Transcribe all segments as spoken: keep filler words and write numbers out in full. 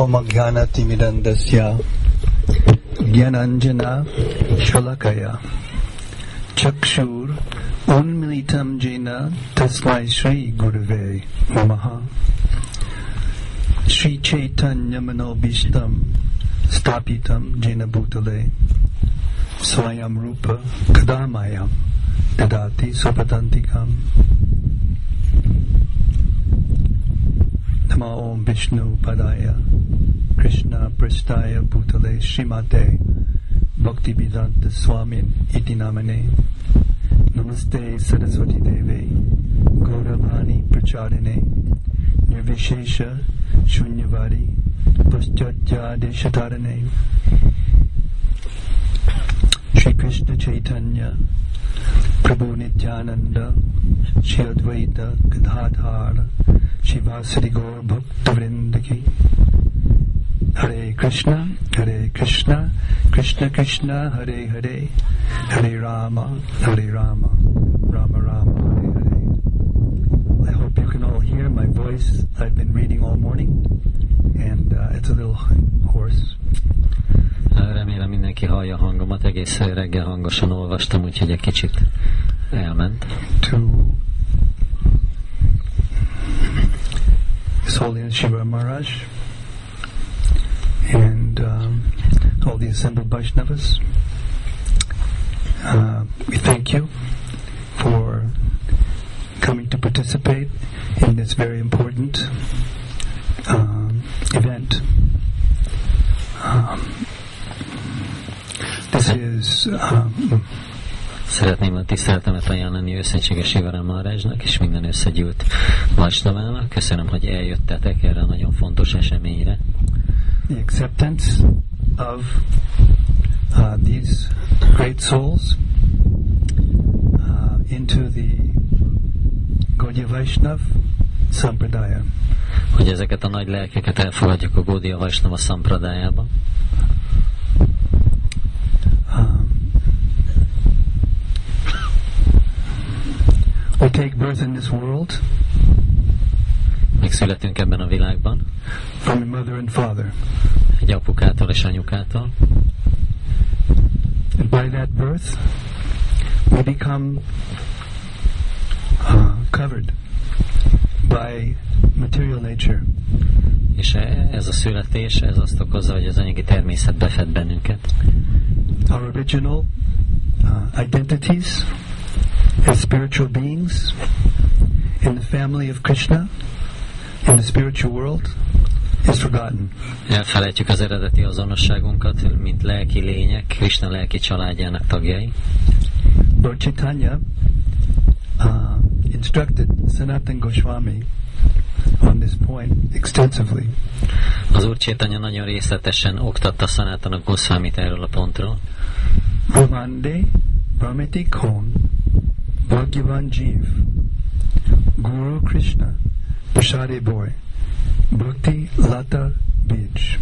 Apamagyana timidandasya Gyananjana Shalakaya Chakshur Unmilitam Jena Tasmai Shri Gurave Namaha Shri Chaitanya Manobishtam Stapitam Jena Bhutale Swayam Rupa Kadamayam Dadati Supatantikam Namo Om Vishnu Padaya Krishna Prasthaya Bhutale Srimate Bhakti Vedanta Swamin Iti Namane Namaste Saraswati Deve Gauravani Prachadine Nirvishesha Shunyavadi Paschatya Deshatarane Shri Krishna Chaitanya Prabhu Nityananda Shri Advaita Gadadhara Shivasari Gaur Bhakta Vrindaki Hare Krishna, Hare Krishna, Krishna Krishna, Hare Hare, Hare Rama, Hare Rama, Rama Rama, Hare Hare. I hope you can all hear my voice. I've been reading all morning, and uh, it's a little hoarse. Remélem mindenki hallja a hangomat, egész reggel hangosan olvastam, úgyhogy egy kicsit elment. To His Holiness Shiva Maharaj and um, all the assembled Vaishnavas, uh, we thank you for coming to participate in this very important um, event. Um, this is um, Szeretném a tiszteletemet ajánlani őszentséges Shiva Maharajnak és minden összegyűlt Vaisnavának. Köszönöm, hogy eljöttetek erre a nagyon fontos eseményre. The acceptance of uh, these great souls uh, into the Gaudiya Vaishnav Sampradaya. Hogy ezeket a nagy lelkeket elfogadjuk a Gaudiya Vaishnava Sampradájába. Um, we take birth in this world. Megszületünk ebben a világban. From your mother and father. Egy apukától és anyukától. And by that birth, we become uh, covered by material nature. És ez a születés, ez azt okozza, hogy az anyagi természet befed bennünket. Our original uh, identities as spiritual beings in the family of Krishna, in the spiritual world, is forgotten. Elfelejtjük az eredeti azonosságunkat, mint lelki lények, Krishna lelki családjának tagjai. Lord Chaitanya uh, instructed Sanatana Goswami on this point extensively. Az Úr Chaitanya nagyon részletesen oktatta Sanatana Goswamit erről a pontról. Brahmande Brahmati Kon Bhagyavan Jeev Guru Krishna Prasade Boy Bhakti Lata Bij.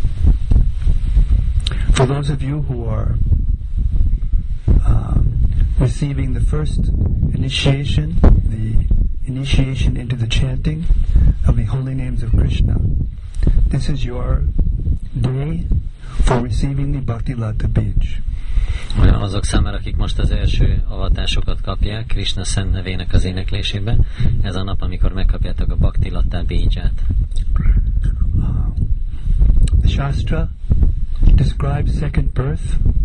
For those of you who are uh, receiving the first initiation, the initiation into the chanting of the holy names of Krishna, this is your day for receiving the Bhakti Lata Bij. Azok számára, akik most az első avatásokat kapják Krishna szent nevének az éneklésébe, ez a nap, amikor megkapjátok a Bhakti Lata Biját. Uh, the Shastra describes second birth.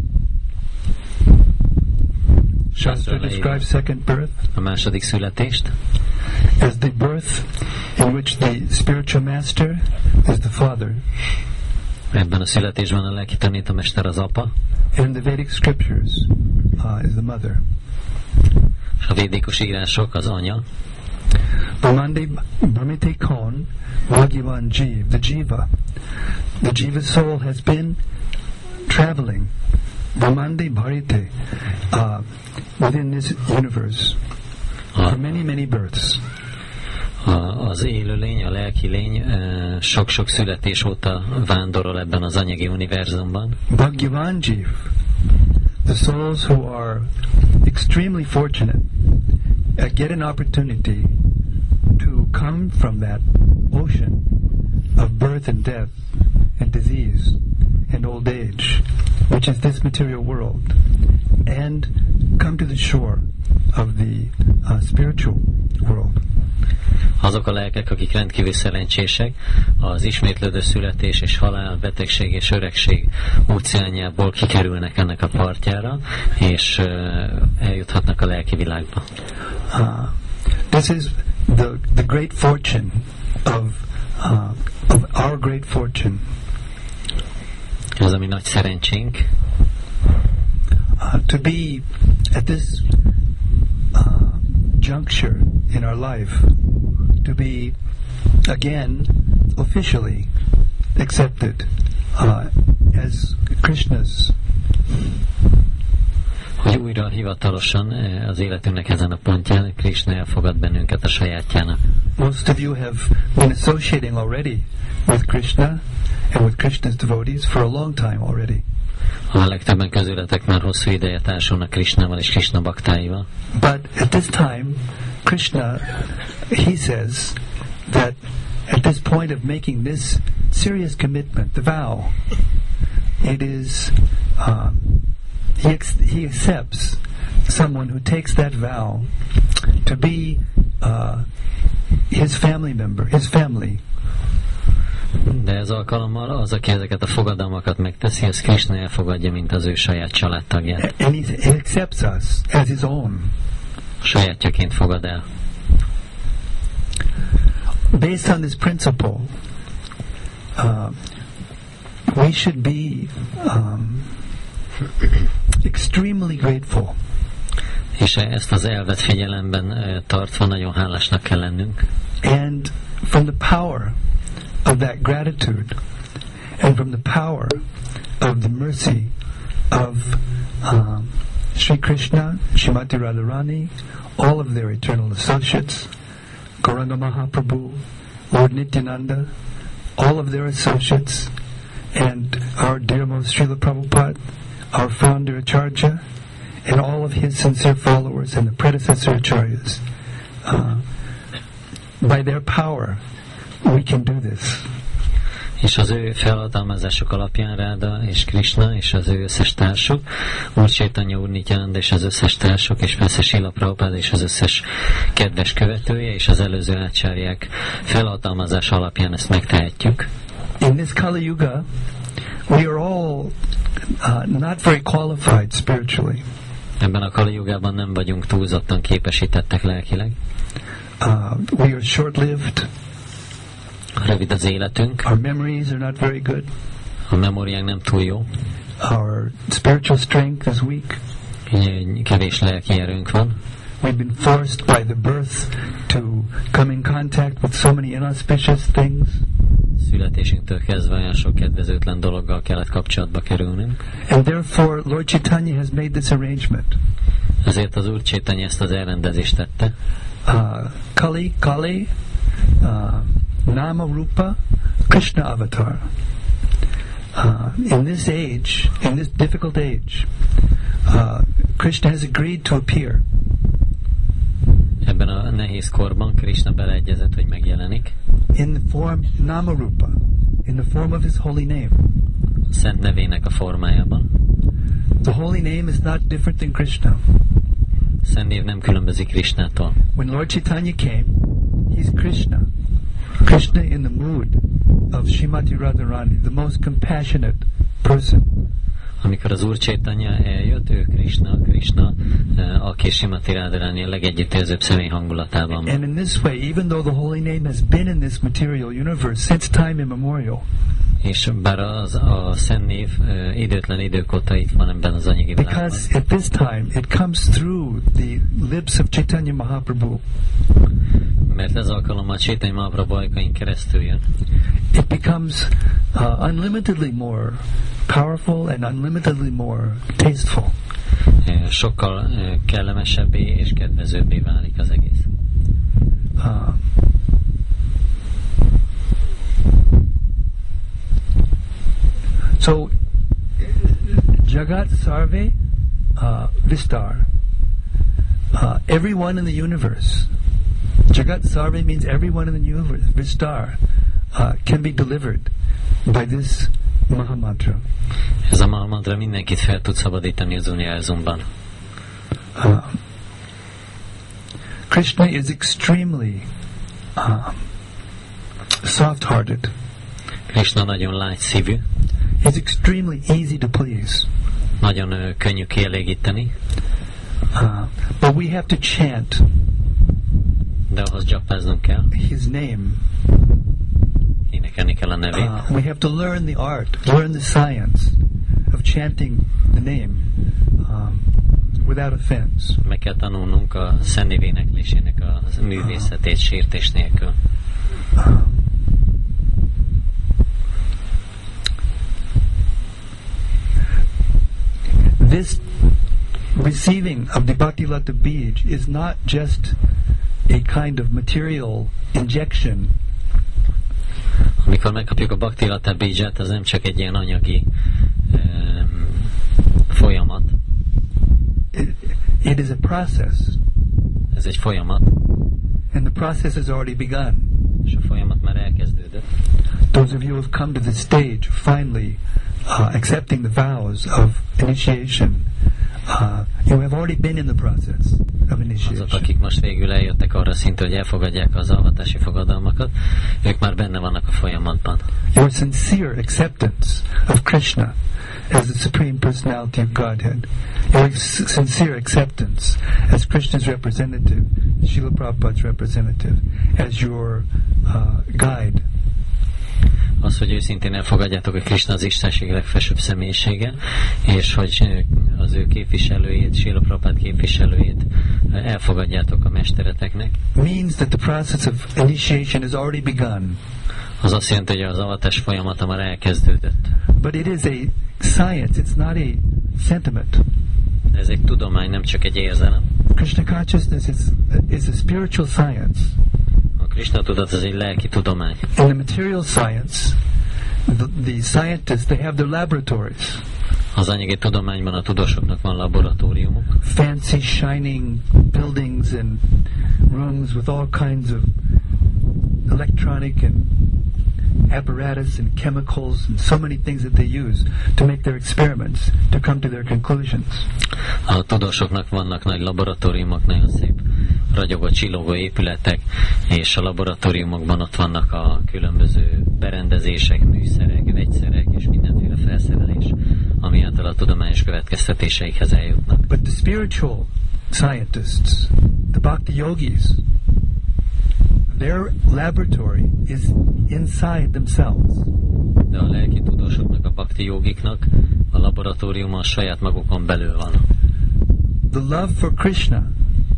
Shastra describes second birth. A második születést. As the birth in which the spiritual master is the father. Ebben a születésben a lelki tanítómester az apa. And the Vedic scriptures uh, is the mother. A védikus írások az anya. Brahmande Brahmite Kon Bhagyavan Jeev, the Jiva. The Jiva soul has been traveling Brahmande Bharite uh, within this universe for many, many births. A, az élőlény, a lelki lény sok-sok születés óta vándorol ebben az anyagi univerzumban. Bhagyavan Jeev, the souls who are extremely fortunate uh, get an opportunity to come from that ocean of birth and death and disease and old age, which is this material world, and come to the shore of the uh, spiritual world. Azok a lelkek, akik rendkívül szerencsések, az ismétlődő születés és halál, betegség és öregség óceánjából kikerülnek ennek a partjára, és uh, eljuthatnak a lelki világba. Uh, this is the, the great fortune of, uh, of our great fortune. Ez a mi nagy szerencsénk. Uh, to be at this uh, juncture in our life, to be again officially accepted uh, as Krishna's. Hogy újra hivatalosan az életünknek ezen a pontján Krishna elfogad bennünket a sajátjának. Most of you have been associating already with Krishna and with Krishna's devotees for a long time already. A legtöbben közületek már hosszú ideje társulnak Krishnával és Krishna baktáival. But at this time, Krishna, he says that at this point of making this serious commitment, the vow, it is, um, he, ex- he accepts someone who takes that vow to be uh, his family member, his family. De ez alkalommal az, aki ezeket a fogadalmakat megteszi, az Krishna elfogadja, mint az ő saját családtagját. And he, he accepts us as his own. Sajátjaként fogad el. Based on this principle, uh, we should be um, extremely grateful. És ezt az elvet figyelemben tartva nagyon hálásnak kell lennünk. And from the power of that gratitude, and from the power of the mercy of um, Sri Krishna, Srimati Radharani, all of their eternal associates, Gauranga Mahaprabhu, Lord Nityananda, all of their associates, and our dearmost Srila Prabhupada, our founder Acharya, and all of his sincere followers and the predecessor Acharyas. Uh, by their power, we can do this. És az ő felhatalmazások alapján Ráda és Krishna és az ő összes társuk, Úr Chaitanya, Úr Nityananda és az összes társuk, és persze Srila Prabhupada és az összes kedves követője és az előző ácsárják felhatalmazás alapján ezt megtehetjük. In this Kali Yuga, we are all uh, not very qualified spiritually. Ebben a Kali Yugában nem vagyunk túlzottan képesítettek lelkileg. Uh, we are short-lived. Rövid az életünk. Our memories are not very good. A memóriánk nem túl jó. Our spiritual strength is weak. Kevés lelki erőnk van. We've been forced by the birth to come in contact with so many inauspicious things. Születésünktől kezdve olyan sok kedvezőtlen dologgal kellett kapcsolatba kerülnünk. And therefore Lord Chaitanya has made this arrangement. Ezért az Úr Chaitanya ezt az elrendezést tette. Uh, Kali, Kali, uh, Nama Rupa, Krishna Avatar. Uh, in this age, in this difficult age, uh, Krishna has agreed to appear. Ebben a nehéz korban Krishna beleegyezett, hogy megjelenik. In the form Nama Rupa, in the form of his holy name. Szent nevének a formájában. The holy name is not different than Krishna. Szent név nem különbözik Krishnától. When Lord Chaitanya came, he's Krishna. Krishna in the mood of Srimati Radharani, the most compassionate person. Amikor az Úr Chaitanya eljött, ő Krishna, Krishna, aki Srimati Radharani a legegyüttérzőbb személy hangulatában van. And in this way, even though the holy name has been in this material universe since time immemorial, és bár az, a szent név uh, időtlen idők óta itt van ebben az anyagi világban. Because at this time it comes through the lips of Chaitanya Mahaprabhu. Mert ez alkalommal Chaitanya Mahaprabhu ajkain keresztül jön. It becomes uh, unlimitedly more powerful and unlimitedly more tasteful. Uh, sokkal uh, kellemesebbé és kedvezőbbé válik az egész. Uh, So, Jagat Sarve uh, Vistar. Uh, everyone in the universe. Jagat Sarve means everyone in the universe. Vistar uh, can be delivered by this Mahamantra. Ez a Mahamantra mindenkit fel tud szabadítani az univerzumban. Uh, Krishna is extremely uh, soft-hearted. Krishna nagyon lágy szívű. He's extremely easy to please. Nagyon uh, könnyű kielégíteni. Uh, but we have to chant. De ahhoz japáznunk kell. His name. Énekelni kell a nevét. Uh, we have to learn the art, learn the science of chanting the name um, without offense. Meg kell tanulnunk a Szent éneklésének a művészetét sértés nélkül. Uh, this receiving of the Bhaktilata Bij is not just a kind of material injection. Amikor megkapjuk a Bhaktilata Bijat, az nem csak egy ilyen anyagi um, folyamat. It, it is a process. Ez egy folyamat. And the process has already begun. És a folyamat már elkezdődött. Those of you who have come to the stage finally uh, accepting the vows of initiation, uh, you have already been in the process of initiation. Azok, akik most végül eljöttek arra szintre, hogy elfogadják az avatási fogadalmakat, ők már benne vannak a folyamatban. Your sincere acceptance of Krishna as the Supreme Personality of Godhead, your s- sincere acceptance as Krishna's representative, Srila Prabhupada's representative, as your uh, guide. Az, hogy őszintén elfogadjátok, hogy Krishna az Istenség legfelsőbb személyisége, és hogy az ő képviselőjét, Srila Prabhupada képviselőjét elfogadjátok a mestereteknek. Means that the process of initiation has already begun. Az azt jelenti, hogy az avatás folyamata már elkezdődött. But it is a science, it's not a sentiment. De ez egy tudomány, nem csak egy érzelem. Krishna consciousness is, is a spiritual science. A Krishna tudat az egy lelki tudomány. In the material science, the, the scientists, they have their laboratories. Az anyagi tudományban a tudósoknak van laboratóriumok. Fancy, shining buildings and rooms with all kinds of electronic and apparatus and chemicals and so many things that they use to make their experiments, to come to their conclusions. A tudósoknak vannak nagy laboratóriumok, nagyon szép ragyogó, csillogó épületek, és a laboratóriumokban ott vannak a különböző berendezések, műszerek, vegyszerek és mindenféle felszerelés, ami által a tudományos következtetéseikhez eljutnak. But the spiritual scientists, the bhakti yogis, their laboratory is inside themselves. De a lelki tudósoknak, a bhakti jogiknak a laboratóriuma a saját magukon belül van. The love for Krishna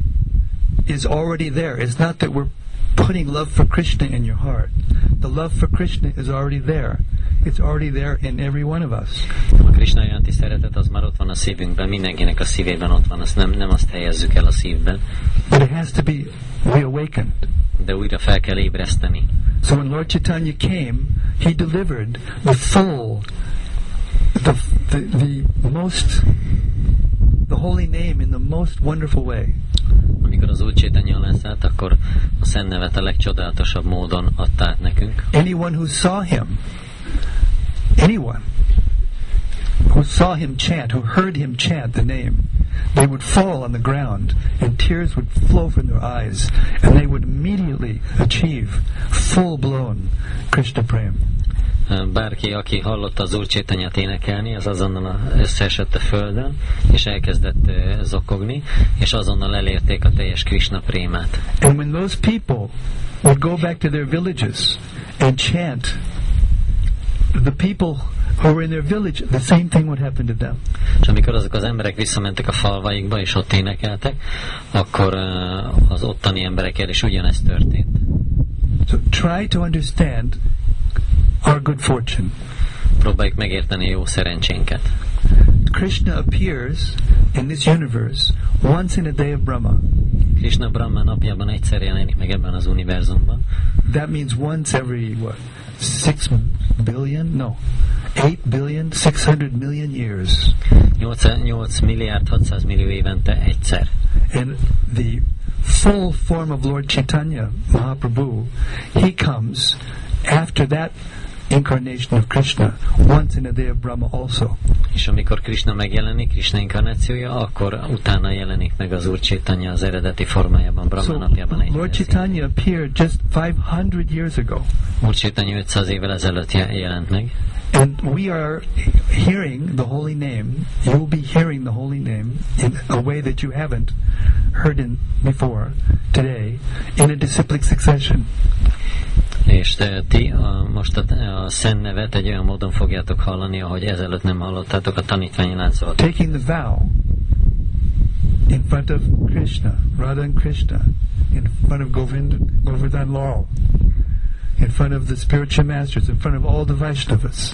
is already there. It's not that we're putting love for Krishna in your heart. The love for Krishna is already there. It's already there in every one of us. A Krishna iránti szeretet az már ott van a szívünkben, mindenkinek a szívében ott van, azt nem, nem azt helyezzük el a szívben. But it has to be reawakened. De újra fel kell ébreszteni. So when Lord Chaitanya came, he delivered the full, the, the, the most, the holy name in the most wonderful way. Amikor az Úr Chaitanya leszállt, akkor a szent nevet a legcsodálatosabb módon adta át nekünk. Anyone who saw him, anyone who saw him chant, who heard him chant the name, they would fall on the ground and tears would flow from their eyes and they would immediately achieve full-blown Krishna Prem. Bárki, aki hallotta az Úr Chaitanyát énekelni, az azonnal összeesett a földön, és elkezdett zokogni, és azonnal elérték a teljes Krishna prémát. And when those people would go back to their villages and chant, the people who were in their village, the same thing would happen to them. És amikor azok az emberek visszamentek a falvaikba, és ott énekeltek, akkor az ottani emberekkel is ugyanezt történt. So try to understand our good fortune. Próbáljuk megérteni jó szerencsénket. Krishna appears in this universe once in a day of Brahma. Krishna Brahma napjában egyszer jelenik meg ebben az univerzumban. That means once every, what, six billion? No, eight billion, six hundred million years. nyolc milliárd hatszáz millió évente egyszer. And the full form of Lord Chaitanya Mahaprabhu, he comes after that incarnation of Krishna, once in a day of Brahma also. És amikor Krishna megjelenik, Krishna inkarnációja, akkor utána jelenik meg az Úr Chaitanya az eredeti formájában, Brahma So napjában egy Lord Chaitanya appeared just five hundred years ago. Úr Chaitanya ötszáz évvel ezelőtt jelent meg. And we are hearing the holy name. You will be hearing the holy name in a way that you haven't heard in before today in a disciplic succession. És te, ti a, most a, a szent nevet egy olyan módon fogjátok hallani, ahogy ezelőtt nem hallottátok a tanítványi láncolat. Taking the vow in front of Krishna, Radha and Krishna, in front of Govind, Govardhan Lal, in front of the spiritual masters, in front of all the Vaishnavas.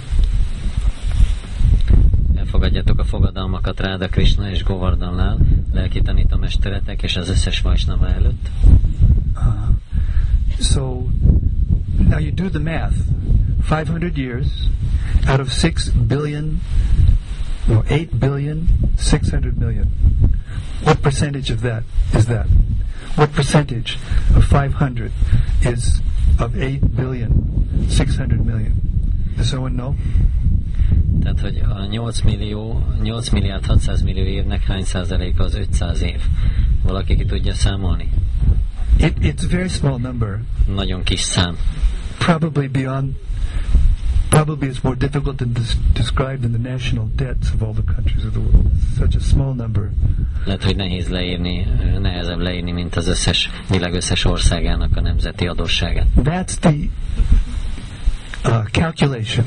Elfogadjátok a fogadalmakat Radha Krishna és Govardhan Lal, lelki tanítómesteretek és az összes Vaishnava előtt. Uh, so now you do the math. five hundred years out of six billion, no, eight billion, six hundred million. What percentage of that is that? What percentage of five hundred is of eight billion, six hundred million? Does someone know? Tehát, hogy a nyolc millió, nyolc milliárd hatszáz millió évnek hány százaléka az ötszáz év? Valaki ki tudja számolni? It, it's a very small number. Nagyon kis szám. Probably beyond, probably it's more difficult than des- described in the national debts of all the countries of the world. It's such a small number. Lehet, hogy nehéz leírni, nehezebb leírni, mint az összes világ összes országának a nemzeti adósságát. That's the uh, calculation.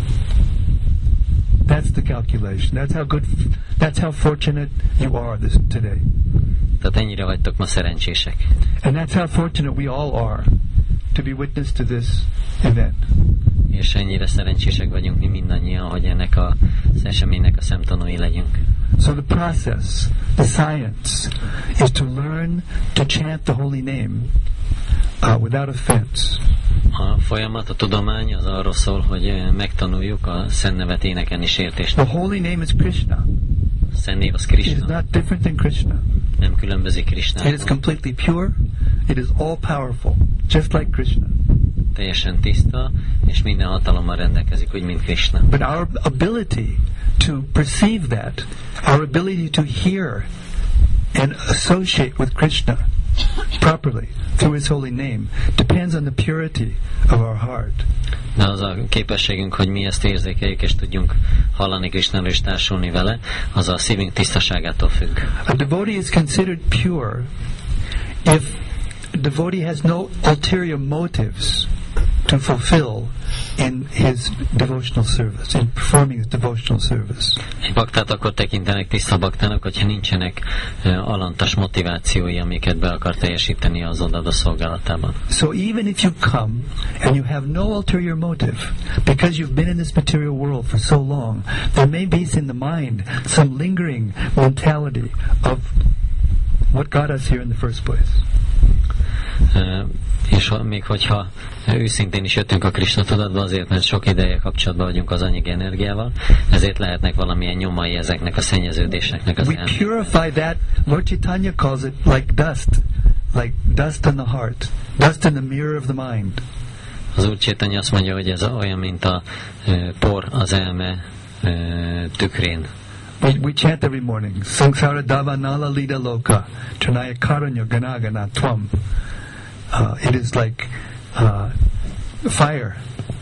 That's the calculation. That's how good, that's how fortunate you are this today. Tehát ennyire vagytok ma szerencsések. And that's how fortunate we all are to be witness to this event. És ennyire szerencsések vagyunk mi mindannyian, hogy ennek a, az eseménynek a szemtanúi legyünk. So the process, the science, is to learn to chant the holy name uh, without offense. A folyamat, a tudomány az arról szól, hogy megtanuljuk a szent nevet énekelni sértést. The holy name is Krishna. A szent név az It is Krishna. not different than Krishna. Nem különbözik It is Krishnától. completely pure. It is all powerful, just like Krishna. Teljesen tiszta, és minden hatalommal rendelkezik, úgy, mint Krishna. But our ability to perceive that, our ability to hear and associate with Krishna properly through His holy name depends on the purity of our heart. De az a képességünk, hogy mi ezt érzékeljük, és tudjunk hallani Krishnáról és társulni vele, az a szívünk tisztaságától függ. A devotee is considered pure if a devotee has no ulterior motives to fulfill in his devotional service, in performing his devotional service. Egy baktát akkor tekintenek tiszta baktának, hogyha nincsenek uh, alantas motivációi, amiket be akar teljesíteni az odaadó szolgálatában. So even if you come and you have no ulterior motive, because you've been in this material world for so long, there may be in the mind some lingering mentality of what got us here in the first place. Uh, és ha, még hogyha őszintén is jöttünk a Krishna tudatba, azért, mert sok ideje kapcsolatban vagyunk az anyagi energiával, ezért lehetnek valamilyen nyomai ezeknek a szennyeződéseknek az We elmének. purify that. Lord Chaitanya calls it like dust, like dust on the heart, dust in the mirror of the mind. Az Úr Chaitanya azt mondja, hogy ez olyan, mint a uh, por az elme uh, tükrén. We, we chant every morning. Samsara davanala lida loka, Tranaya karanya ganagana tvam. Uh, it is like uh, fire.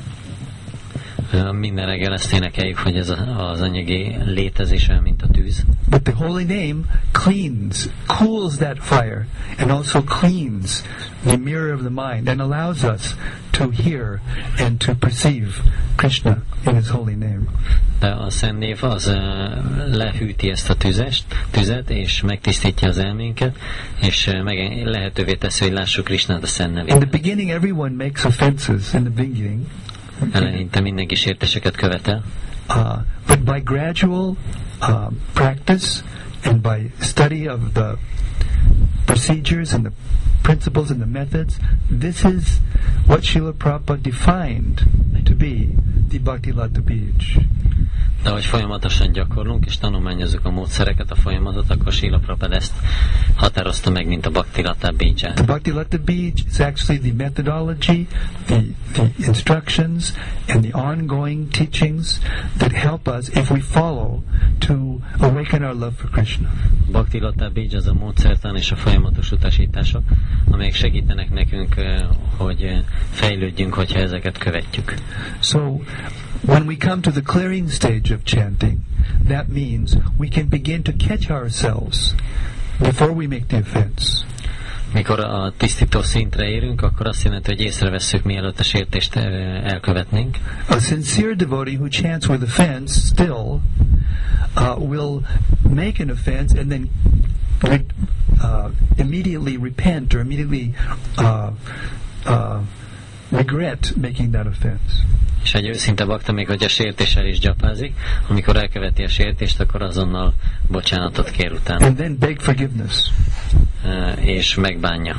Uh, minden reggel ezt énekeljük, hogy ez a, az anyagi létezés olyan, mint a tűz. But the holy name cleans, cools that fire, and also cleans the mirror of the mind and allows us to hear and to perceive Krishna in His holy name. De a Szent Név az uh, lehűti ezt a tüzest, tüzet, és megtisztítja az elménket, és uh, meg lehetővé teszi, hogy lássuk Krishnát a Szent In the nevében. beginning, everyone makes offenses in the beginning. Eleinte mindenki sértéseket követel, Uh, but by gradual uh, practice and by study of the procedures and the principles and the methods, this is what Srila Prabhupada defined to be the Bhakti Lata Bij. De hogy folyamatosan gyakorlunk és tanulmányozzuk a módszereket, a folyamatot, akkor Srila Prabhupada ezt határozta meg, mint a Bhaktilata Bija. The Bhaktilata Bija is actually the methodology, the, the instructions, and the ongoing teachings that help us, if we follow, to awaken our love for Krishna. Bhaktilata Bija az a módszertan és a folyamatos utasítások, amelyek segítenek nekünk, hogy fejlődjünk, hogyha ezeket követjük. So, when we come to the clearing stage of chanting, that means we can begin to catch ourselves before we make the offense. Mikor a tisztító szintre érünk, akkor azt jelenti, hogy észrevesszük, mielőtt a sértést elkövetnénk. A sincere devotee who chants with offense still uh, will make an offense and then re- uh, immediately repent or immediately uh, uh, regret making that offense. És egy őszinte bakta, még hogy a sértéssel is gyapázik, amikor elköveti a sértést, akkor azonnal bocsánatot kér utána. And then beg forgiveness. Uh, és megbánja.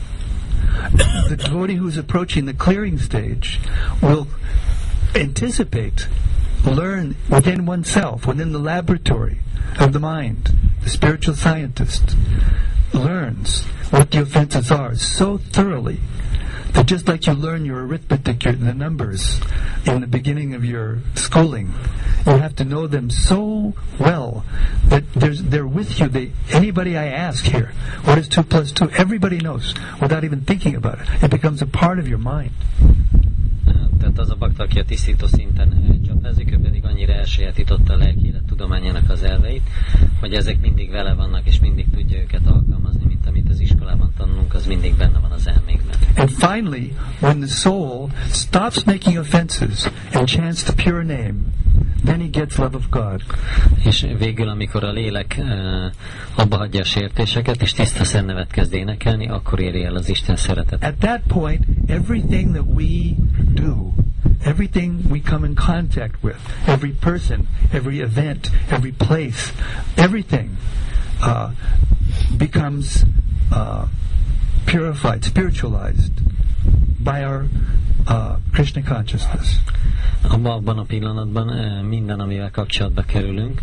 The devotee who's approaching the clearing stage will anticipate, learn within oneself, within the laboratory of the mind. The spiritual scientist learns what the offenses are so thoroughly that just like you learn your arithmetic, your, the numbers in the beginning of your schooling, you have to know them so well that there's, they're with you. They, anybody I ask here, what is two plus two? Everybody knows without even thinking about it. It becomes a part of your mind. Tehát az a bakta, aki a tisztító szinten csapázik, ő pedig annyira elsajátította a lelki élet tudományának az elveit, hogy ezek mindig vele vannak, és mindig tudja őket alkalmazni, mint amit az iskolában tanulunk, az mindig benne van az elmékben. And finally, when the soul stops making offenses and chants the pure name, then he gets love of God. És végül, amikor a lélek uh, abba hagyja a sértéseket, és tiszta szennevet kezd énekelni, akkor éri el az Isten szeretetet. At that point, everything that we do, everything we come in contact with, every person, every event, every place, everything uh, becomes uh, purified, spiritualized by our uh, Krishna consciousness. Abban a pillanatban minden, amivel kapcsolatba kerülünk,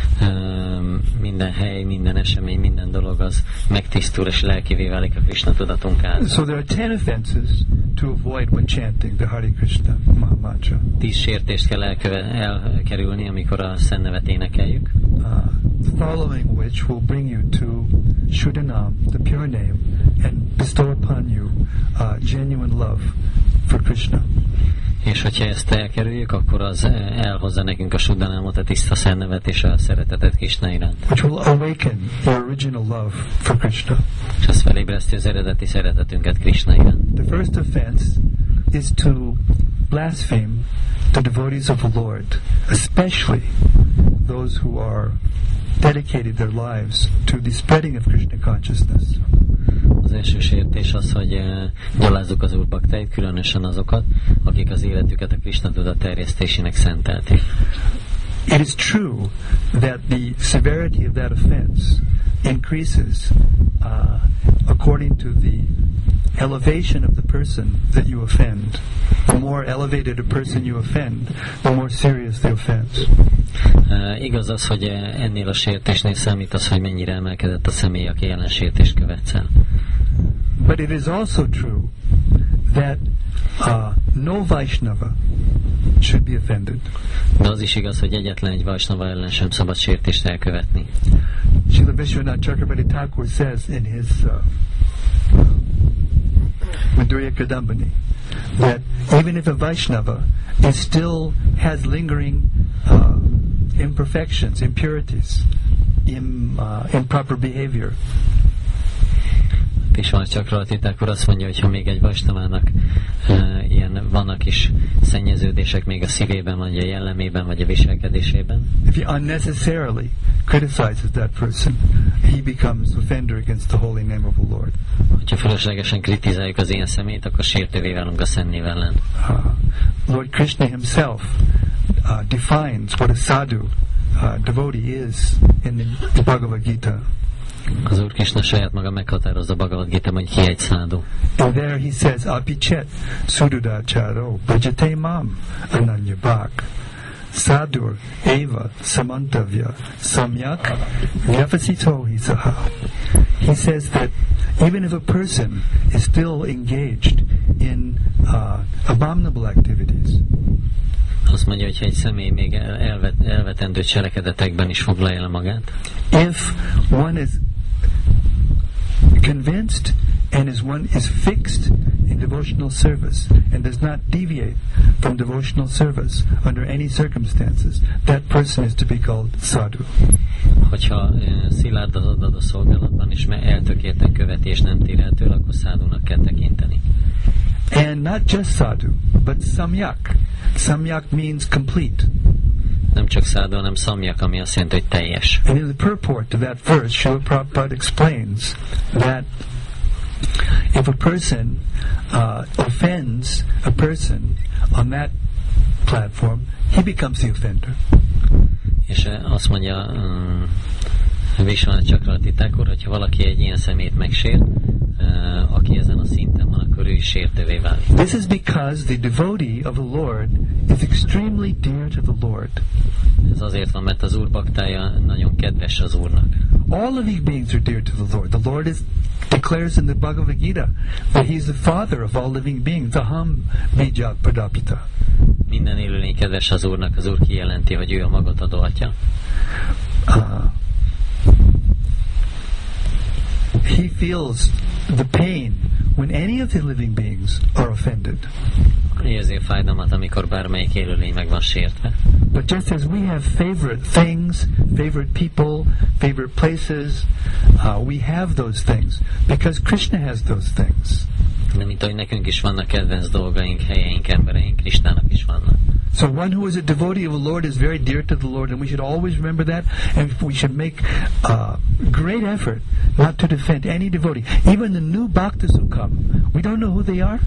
minden hely, minden esemény, minden dolog az megtisztul és lelkivé válik a Krishna tudatunk által. So there are ten offenses to avoid when chanting the Hare Krishna mantra. Tíz sértést kell elköve- elkerülni, amikor a szennevet énekeljük. Uh, following which will bring you to Shuddhanam, the pure name, and bestow upon you uh, genuine love for Krishna. És hogyha ezt elkerüljük, akkor az elhozza nekünk a Shuddhanamot, a tiszta szennevet és a szeretetet Krishna iránt. Which will awaken your original love for Krishna. És az felébreszti az eredeti szeretetünket Krishna iránt. The first offense is to blaspheme the devotees of the Lord, especially those who are dedicated their lives to the spreading of Krishna consciousness. Az első sértés az, hogy uh, gyalázzuk az Úr baktáit, különösen azokat, akik az életüket a Krishna tudat terjesztésének szentelték. It is true that the severity of that offense increases uh, according to the elevation of the person that you offend. The more elevated a person you offend, the more serious the offense. Uh, igaz az, hogy ennél a sértésnél számít az, hogy mennyire emelkedett a személy, aki ellen sértést követsz el. But it is also true that uh, no Vaishnava should be offended. De az is igaz, hogy egyetlen egy Vaishnava ellen sem szabad sértést elkövetni. Srila Vishwanath Chakrabarti Thakur says in his uh, Madhurya Kadambini that even if a Vaishnava is still has lingering uh, imperfections, impurities, in, uh, improper behavior, Vishwanath Chakrabarti Thakur azt mondja, hogy ha még egy Vaisnavának uh, ilyen vannak is szennyeződések még a szívében, vagy a jellemében, vagy a viselkedésében, if he unnecessarily criticizes that person, he becomes offender against the holy name of the Lord. hogyha fölöslegesen kritizáljuk az ilyen személyt, akkor sértővé válunk a Szent név ellen. Uh, Lord Krishna himself uh, defines what a sadhu uh, devotee is in the, the Bhagavad Gita. Az Úr Krishna saját maga meghatározza a Bhagavad Gita, hogy ki egy szádhu. And there he says, apichet sududacharo bhajate mam ananya bhak Sadur eva samantavya samyak vyavasito hisaha. He says that even if a person is still engaged in uh, abominable activities, azt mondja, hogy egy személy még elvet, elvetendő cselekedetekben is foglalja el magát. If one is convinced and is one is fixed in devotional service and does not deviate from devotional service under any circumstances, that person is to be called sadhu. Hogyha uh, szilárd az adott szolgálatban és eltökélten követi és nem tér el tőle, akkor szádúnak kell tekinteni. And not just sadhu, but samyak. Samyak means complete. Nem csak szádú, hanem szamyak, ami azt jelenti, hogy teljes. And in the purport to that verse, Srila Prabhupada explains that if a person uh, offends a person on that platform, he becomes the offender. És azt mondja um, Vishwanath Chakravarti Thakur, hogyha valaki egy ilyen szemét megsért, uh, aki ezen a szinten van, akkor ő is sértővé válik. This is because the devotee of the Lord is extremely dear to the Lord. Ez azért van, mert az Úr baktája nagyon kedves az Úrnak. All living beings are dear to the Lord. The Lord is declares in the Bhagavad Gita that He is the father of all living beings. Aham bija pradapita. Minden élőlény kedves az Úrnak, az Úr kijelenti, hogy ő a magot adó atya. Uh, he feels the pain when any of the living beings are offended. Érzi a fájdalmat, amikor bármelyik élőlény meg van sértve. But just as we have favorite things, favorite people, favorite places, uh, we have those things because Krishna has those things. De mint ahogy nekünk is vannak kedvenc dolgaink, helyeink, embereink, Krisnának is vannak. So one who is a devotee of the Lord is very dear to the Lord, and we should always remember that, and we should make uh, great effort not to defend any devotee. Even the new bhaktas who come, we don't know who they are.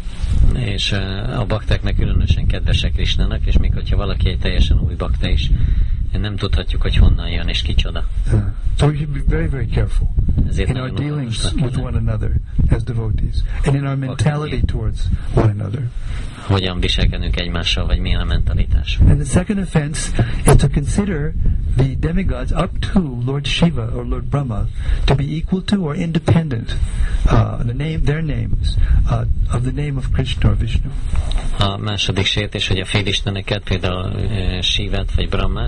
És uh, a baktáknak különösen kedvesek Krisnának, és még hogyha valaki egy teljesen új bakta is, nem tudhatjuk, hogy honnan jön és kicsoda. Uh, so we should be very, very careful Ezért in our dealings with one another as devotees, and in our mentality towards one another. Hogyan viselkedünk egymással, vagy milyen a mentalitás. And the second offense is to consider the demigods up to Lord Shiva or Lord Brahma to be equal to or independent uh, the name, their names uh, of the name of Krishna or Vishnu. A második sértés, hogy a félisteneket, például uh, Shivát vagy Brahmát,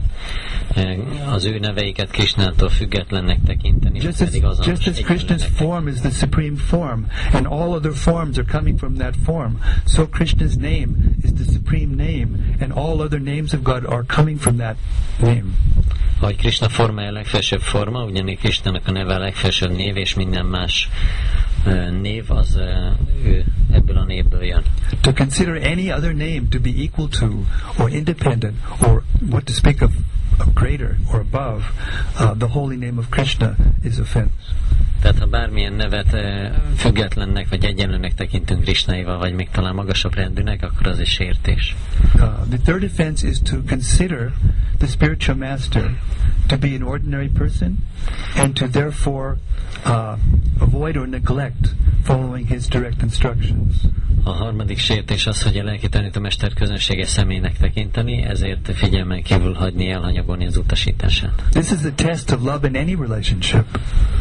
uh, az ő neveiket Krishnától függetlennek tekinteni. Just as, just as Krishna's form is the supreme form, and all other forms are coming from that form, so Krishna's name is the supreme name, and all other names of God are coming from that name. Ahogy Krishna formája a legfelsőbb forma, ugyanígy Krishnának a neve a legfelsőbb név, és minden más uh, név az uh, ő ebből a névből jön. To consider any other name to be equal to, or independent, or what to speak of, of greater or above, uh, the holy name of Krishna is offense. Tehát ha bármilyen nevet uh, függetlennek vagy egyenlőnek tekintünk Krishnáival, vagy még talán magasabb rendűnek, akkor az is sértés. Uh, the third offense is to consider the spiritual master to be an ordinary person, and to therefore uh, avoid or neglect following his direct instructions. A harmadik sértés az, hogy a lelki tanítómester közönséges személynek tekinteni, ezért figyelmen kívül hagyni, elhanyagolni az utasítását. This is the test of love in any relationship.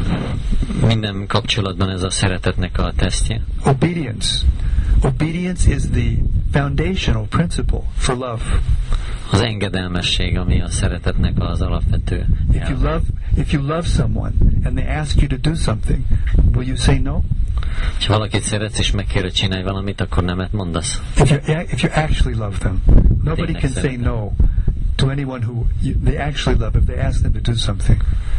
Minden kapcsolatban ez a szeretetnek a tesztje. Obedience. Obedience is the foundational principle for love. Az engedelmesség, ami a szeretetnek az alapvető. If you love, if you love someone and they ask you to do something, will you say no? Ha valakit szeretsz és megkér, hogy csinálj valamit, akkor nemet mondasz. If you if you actually love them, nobody can say no to anyone who you, they actually love if they ask them to do something.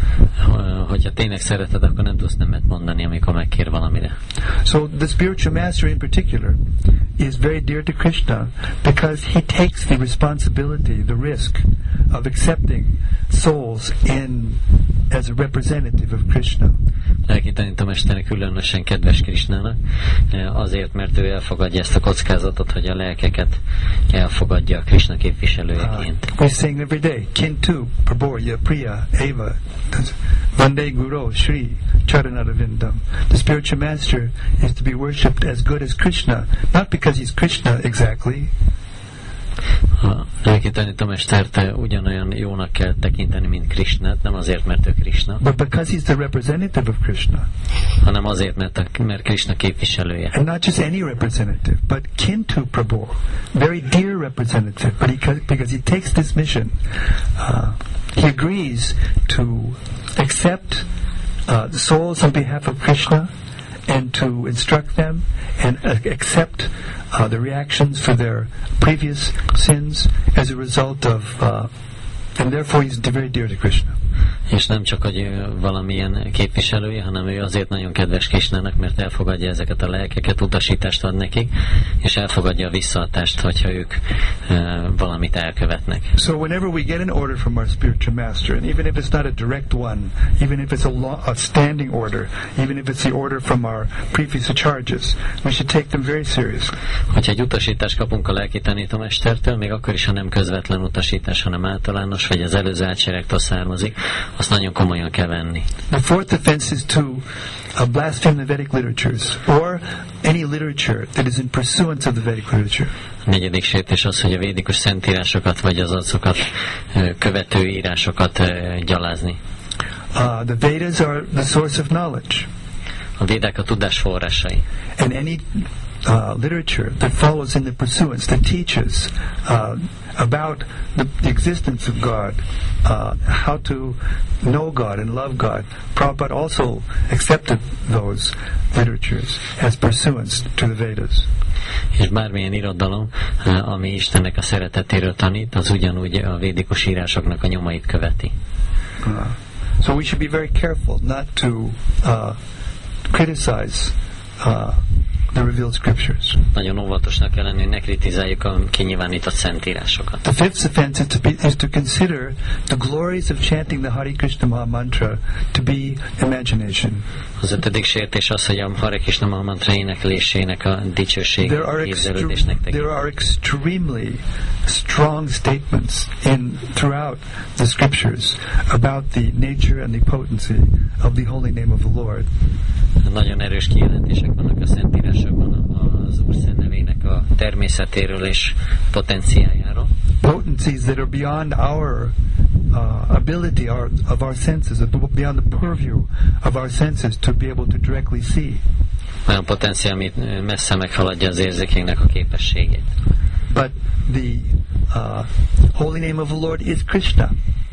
Hogyha tényleg szereted, akkor nem tudsz nemet mondani, amikor megkér valamire. So the spiritual master in particular is very dear to Krishna because he takes the responsibility, the risk of accepting souls in as a representative of Krishna. Lelki tanítómester különösen kedves Krishnának, azért, mert ő elfogadja ezt a kockázatot, hogy a lelkeket elfogadja a Krishna képviselőjeként. Uh, we sing every day, Kintu, Prabhorya, Priya, Eva, Vande Guru, Shri, Charanarvindam. The spiritual master is to be worshipped as good as Krishna, not because he's Krishna exactly. A lelki tanítómestert ugyanolyan jónak kell tekinteni, mint Krishnát, nem azért, mert ő Krishna, but because he's the representative of Krishna. hanem azért, mert, a, mert Krishna képviselője. And not just any representative, but kin to Prabhu, very dear representative, but he, because he takes this mission, uh, he agrees to accept uh, the souls on behalf of Krishna and to instruct them and uh, accept uh, the reactions for their previous sins as a result of, uh, and therefore he's very dear to Krishna. És nem csak, hogy ő valamilyen képviselője, hanem ő azért nagyon kedves Krishnának, mert elfogadja ezeket a lelkeket, utasítást ad nekik, és elfogadja a visszaadást, hogyha ők uh, valamit elkövetnek. So whenever we get an order from our spiritual master, and even if it's not a direct one, even if it's a, lo- a standing order, even if it's the order from our previous charges, we should take them very seriously. Hogyha egy utasítást kapunk a lelki tanítómestertől, még akkor is, ha nem közvetlen utasítás, hanem általános, vagy az előző átsérektől származik, azt nagyon komolyan kell venni. The fourth offense is to uh, blaspheme the Vedic literatures, or any literature that is in pursuance of the Vedic literature. A negyedik sértés az, hogy a védikus szentírásokat, vagy az azokat követő írásokat gyalázni. Uh, the Vedas are the source of knowledge. A védák a tudás forrásai. And any uh, literature that follows in the pursuance, that teaches uh, about the, the existence of God, uh, how to know God and love God, Prabhupada also accepted those literatures as pursuance to the Vedas. És bármilyen irodalom, ami Istennek a szeretetéről tanít, az ugyanúgy a védikus írásoknak a nyomait követi. Uh, so we should be very careful not to uh, criticize uh, the revealed scriptures. Nagyon óvatosnak kell lenni, ne kritizáljuk a kinyilvánított szentírásokat. The fifth offense is to, be, is to consider the glories of chanting the Hare Krishna Maha Mantra to be imagination. Az ötödik sértés az, hogy a Hare Krishna Maha Mantra éneklésének a dicsőség képzelődésnek tekint. There are extremely strong statements in throughout the scriptures about the nature and the potency of the holy name of the Lord. Nagyon erős kijelentések vannak a szentírásokban az Úr szent nevének a természetéről és potenciájáról. Potencies that are beyond our uh, ability our, of our senses, beyond the purview of our senses to be able to directly see. Olyan potenciál, amit messze meghaladja az érzékeinknek a képességét. But the uh, holy name of the Lord is Krishna.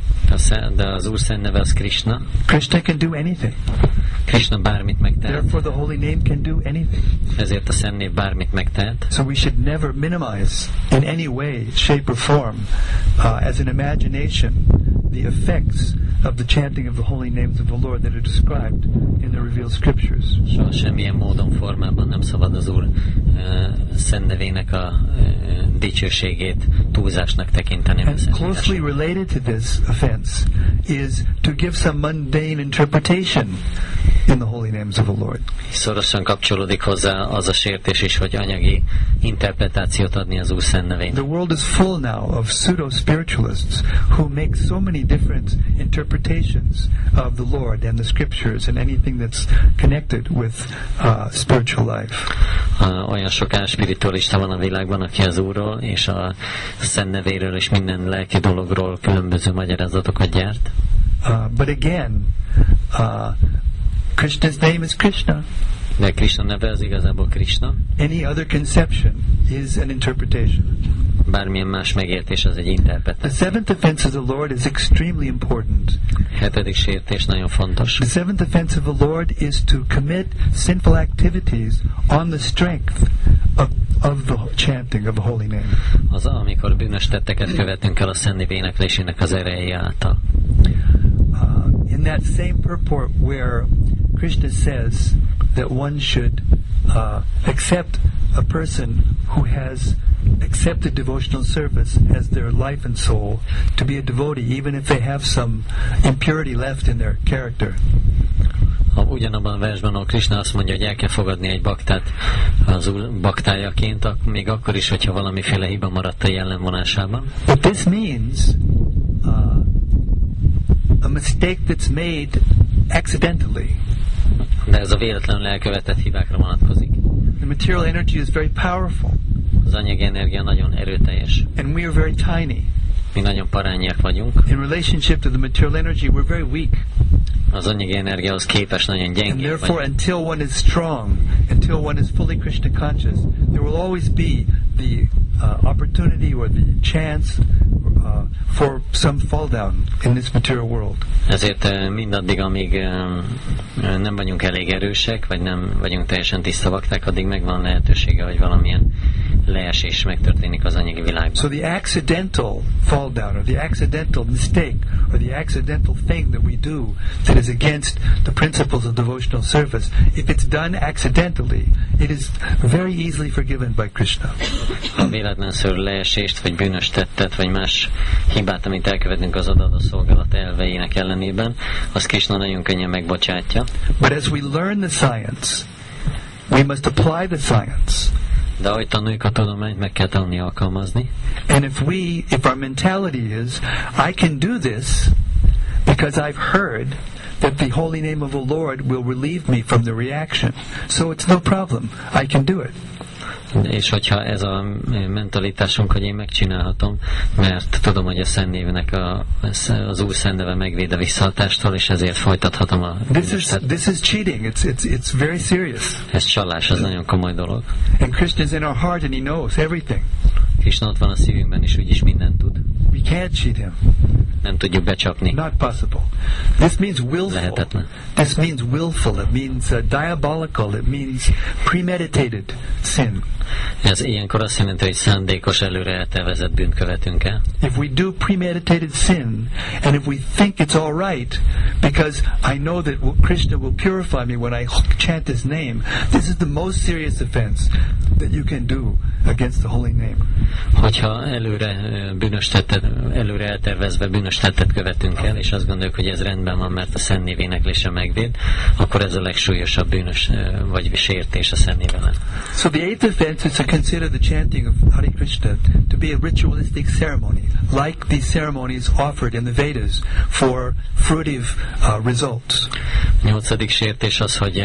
De az Úr szent neve az Krishna. Krishna can do anything. Krishna bármit megtehet. Therefore the holy name can do anything. Ezért a szent név bármit megtehet. So we should never minimize in any way, shape or form uh, as an imagination the effects of the chanting of the holy names of the Lord that are described in the revealed scriptures. Soha semmilyen módon, formában nem szabad az Úr uh, szent nevének a uh, dicsőségét túlzásnak tekinteni. And closely related to this offense is to give some mundane interpretation in the holy names of the Lord. Szorosan kapcsolódik hozzá az a sértés is, hogy anyagi interpretációt adni az Úr szent nevének. The world is full now of pseudo-spiritualists who make so many different interpretations of the Lord and the scriptures and anything that's connected with uh, spiritual life. Uh, olyan sok spiritualista van a világban, aki az Úrról és a szent nevéről és minden lelki dologról különböző magyarázatokat gyárt. Uh, but again, uh, Krishna's name is Krishna. De Krishna neve az igazából Krishna. Any other conception is an interpretation. Bármilyen más megértés az egy interpretáció. The seventh offense of the Lord is extremely important. Hetedik sértés nagyon fontos. The seventh offense of the Lord is to commit sinful activities on the strength of, of the chanting of the holy name. Az, amikor bűnös tetteket követünk el a szent név éneklésének az ereje által. Uh, in that same purport where Krishna says that one should uh, accept a person who has accepted devotional service as their life and soul to be a devotee, even if they have some impurity left in their character. Ha ugyanabban a versben, ahol Krishna azt mondja, hogy el kell fogadni egy baktát az úr baktájaként, még akkor is, hogyha valamiféle hiba maradt a jellemvonásában. But this means uh, a mistake that's made accidentally. De ez a véletlenül elkövetett hibákra vonatkozik. The material energy is very powerful. Az Az anyagi energia nagyon erőteljes. And we are very tiny. Mi nagyon parányiak vagyunk. In relationship to the material energy, we're very weak. Az anyagi energiához képest nagyon And gyengék therefore, vagyunk. until one is strong, until one is fully Krishna conscious, there will always be the uh, opportunity or the chance uh, for some fall down in this material world. Ezért eh, mindaddig, amíg eh, nem vagyunk elég erősek, vagy nem vagyunk teljesen tiszta bakták, addig megvan lehetősége, hogy valamilyen leesés megtörténik az anyagi világban. So the accidental fall down, or the accidental mistake, or the accidental thing that we do that is against the principles of devotional service, if it's done accidentally, it is very easily forgiven by Krishna. Ha véletlenszerű leesést, vagy bűnös tettet, vagy más hibát, amit elkövetünk az adott szolgálat elveinek ellenében, azt Krishna nagyon könnyen megbocsátja. But as we learn the science, we must apply the science. De ahogy tanuljuk a tudományt, meg kell tanulni alkalmazni. And if we, if our mentality is, I can do this because I've heard that the holy name of the Lord will relieve me from the reaction, so it's no problem, I can do it. És hogyha ez a mentalitásunk, hogy én megcsinálhatom, mert tudom, hogy a Szentnévnek a, az Úr Szentneve megvéd a visszahatástól, és ezért folytathatom a This is this is cheating. It's it's it's very serious. Ez csalás, az nagyon komoly dolog. And Krishna is in our heart, and He knows everything. Krishna ott van a szívünkben, és úgyis mindent tud. We can't cheat Him. Nem tudjuk becsapni. Not possible. This means willful. Lehetetlen. This means willful. It means uh, diabolical. It means premeditated sin. Ez ilyenkor azt jelenti, hogy szándékos, előre eltervezett bűnt követünk el. If we do premeditated sin, and if we think it's all right, because I know that Krishna will purify me when I chant His name, this is the most serious offense that you can do against the holy name. Hogyha előre bűnös tettet, előre eltervezve bűnös tettet követünk el, és azt gondoljuk, hogy ez rendben van, mert a Szent Név éneklése megvéd, akkor ez a legsúlyosabb bűnös vagy sértés a Szent Név ellen. So the eighth offense is to consider the chanting of Hare Krishna to be a ritualistic ceremony, like these ceremonies offered in the Vedas for fruitive uh, results. A nyolcadik sértés az, hogy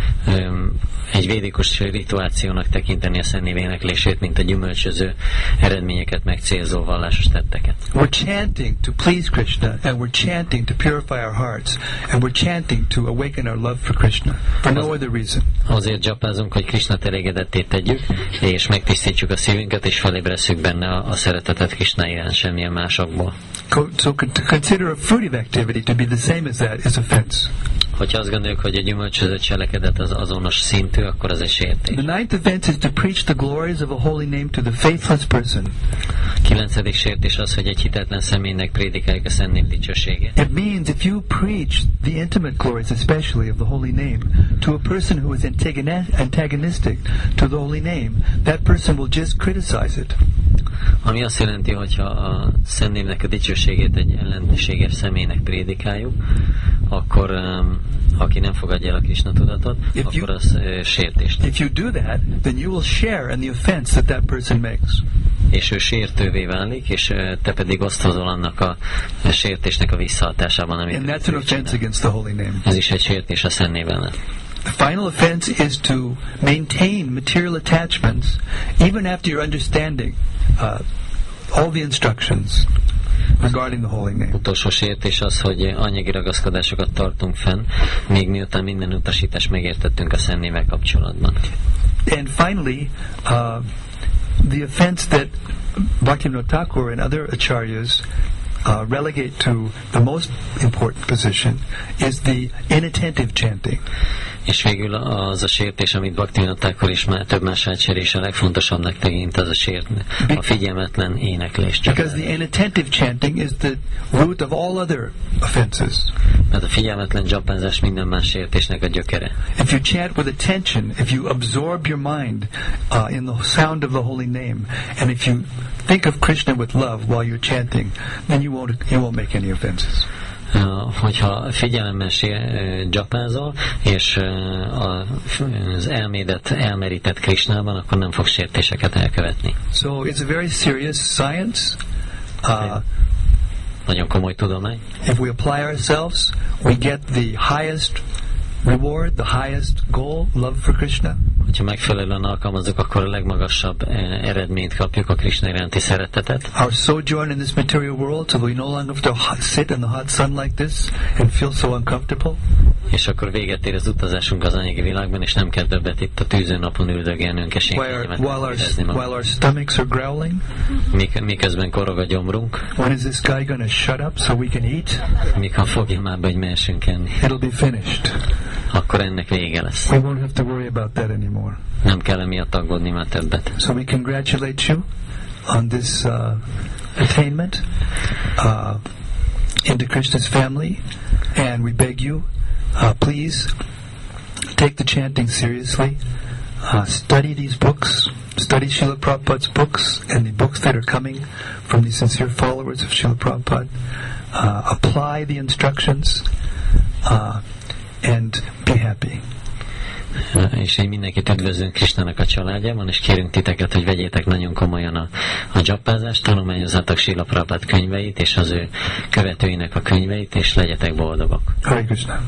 um, egy védikus rituációnak tekinteni a Szent Név éneklését, mint a gyümölcsöző eredményeket megcélzó vallásos tetteket. We're chanting to please Krishna, and we're chanting to purify our hearts, and we're chanting to awaken our love for Krishna, for no other reason. Azért dzsapázunk, hogy Krishnát elégedetté tegyük, és megtisztítjuk a szívünket, és felébresszük benne a, a szeretetet Krishna iránt, semmilyen másokból. So to consider a fruitive activity to be the same as that is offense. Hogyha azt gondoljuk, hogy a gyümölcsöző cselekedet az azonos szintű, akkor az egy sértés. The ninth offense is to preach the glories of a holy name to the faithless person. Kilencedik sértés az, hogy egy hitetlen személynek prédikáljuk a Szent Név dicsőségét. It means if you preach the intimate glories, especially of the holy name, to a person who is antagonistic to the holy name, that person will just criticize it. Ami azt jelenti, hogyha a Szent Névnek a dicsőségét egy ellenséges személynek prédikáljuk, akkor um, aki nem fogadja el a Krishna tudatot, if akkor you, az uh, sértést. If you do that, then you will share in the offense that that person makes. És ő sértővé válik, és uh, te pedig osztozol annak a, a sértésnek a visszahatásában, amit and that's an offense against the holy name. Ez is egy sértés a Szent Név ellen. The final offense is to maintain material attachments even after your understanding uh, all the instructions regarding the holy name. Utolsó sértés az, hogy anyagi ragaszkodásokat tartunk fenn, még miután minden utasítást megértettünk a Szent Névvel kapcsolatban. And finally, uh, the offense that Bhaktivinoda Thakur and other acharyas Uh, relegate to the most important position is the inattentive chanting. És végül az a sértés, amit Bhaktivinoda Thakur és már több más ácserés a legfontosabbnak tekint, az a sért, a figyelmetlen éneklés. Because the inattentive chanting is the root of all other offenses. Mert a figyelmetlen dzsapázás minden más sértésnek a gyökere. If you chant with attention, if you absorb your mind uh, in the sound of the holy name, and if you think of Krishna with love while you're chanting, then you won't you won't make any offenses. Uh, hogyha figyelemmel uh, dzsapázol, és uh, az elmédet elmerített Krishnában, akkor nem fog sértéseket elkövetni. So it's a very serious science. Uh, Nagyon komoly tudomány. If we apply ourselves, we get the highest reward, the highest goal, love for Krishna. hogyha megfelelően alkalmazzuk, akkor a legmagasabb eh, eredményt kapjuk, a Krishna iránti szeretetet. Our sojourn in this material world, so we no longer have to sit in the hot sun like this and feel so uncomfortable. És akkor véget ér az utazásunk az anyagi világban, és nem kell többet itt a tűzön napon üldögélnünk, és While, while, our, while our stomachs are growling. Mik, miközben korog a gyomrunk. When is this guy going to shut up so we can eat? Mikor fogja már be, hogy mehessünk enni. It'll be finished. Akkor ennek vége lesz. We won't have to worry about that anymore. Nem kell emiatt aggódni már többet. So we congratulate you on this uh, attainment uh, into Krishna's family, and we beg you, uh, please take the chanting seriously. Uh, study these books, study Srila Prabhupada's books and the books that are coming from the sincere followers of Srila Prabhupada. Uh, apply the instructions uh, and be happy. És én mindenkit üdvözlünk Krisnának a családjában, és kérünk titeket, hogy vegyétek nagyon komolyan a, a dzsappázást, tanulmányozzátok Srila Prabhupada könyveit, és az ő követőinek a könyveit, és legyetek boldogok. Hare Krishna.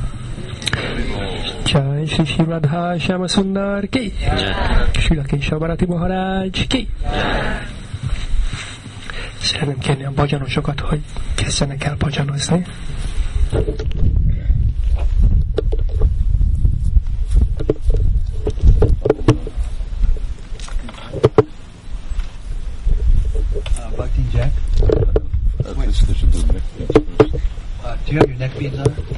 Jai Shri Shri Radha Shyama Sundar ki, Srila Kesava Bharati Maharaj ki. Szeretném kérni a bhajanosokat, hogy kezdjenek el bhajanozni. Uh, Bhakti Jack, uh, uh, do you have your neck beads on?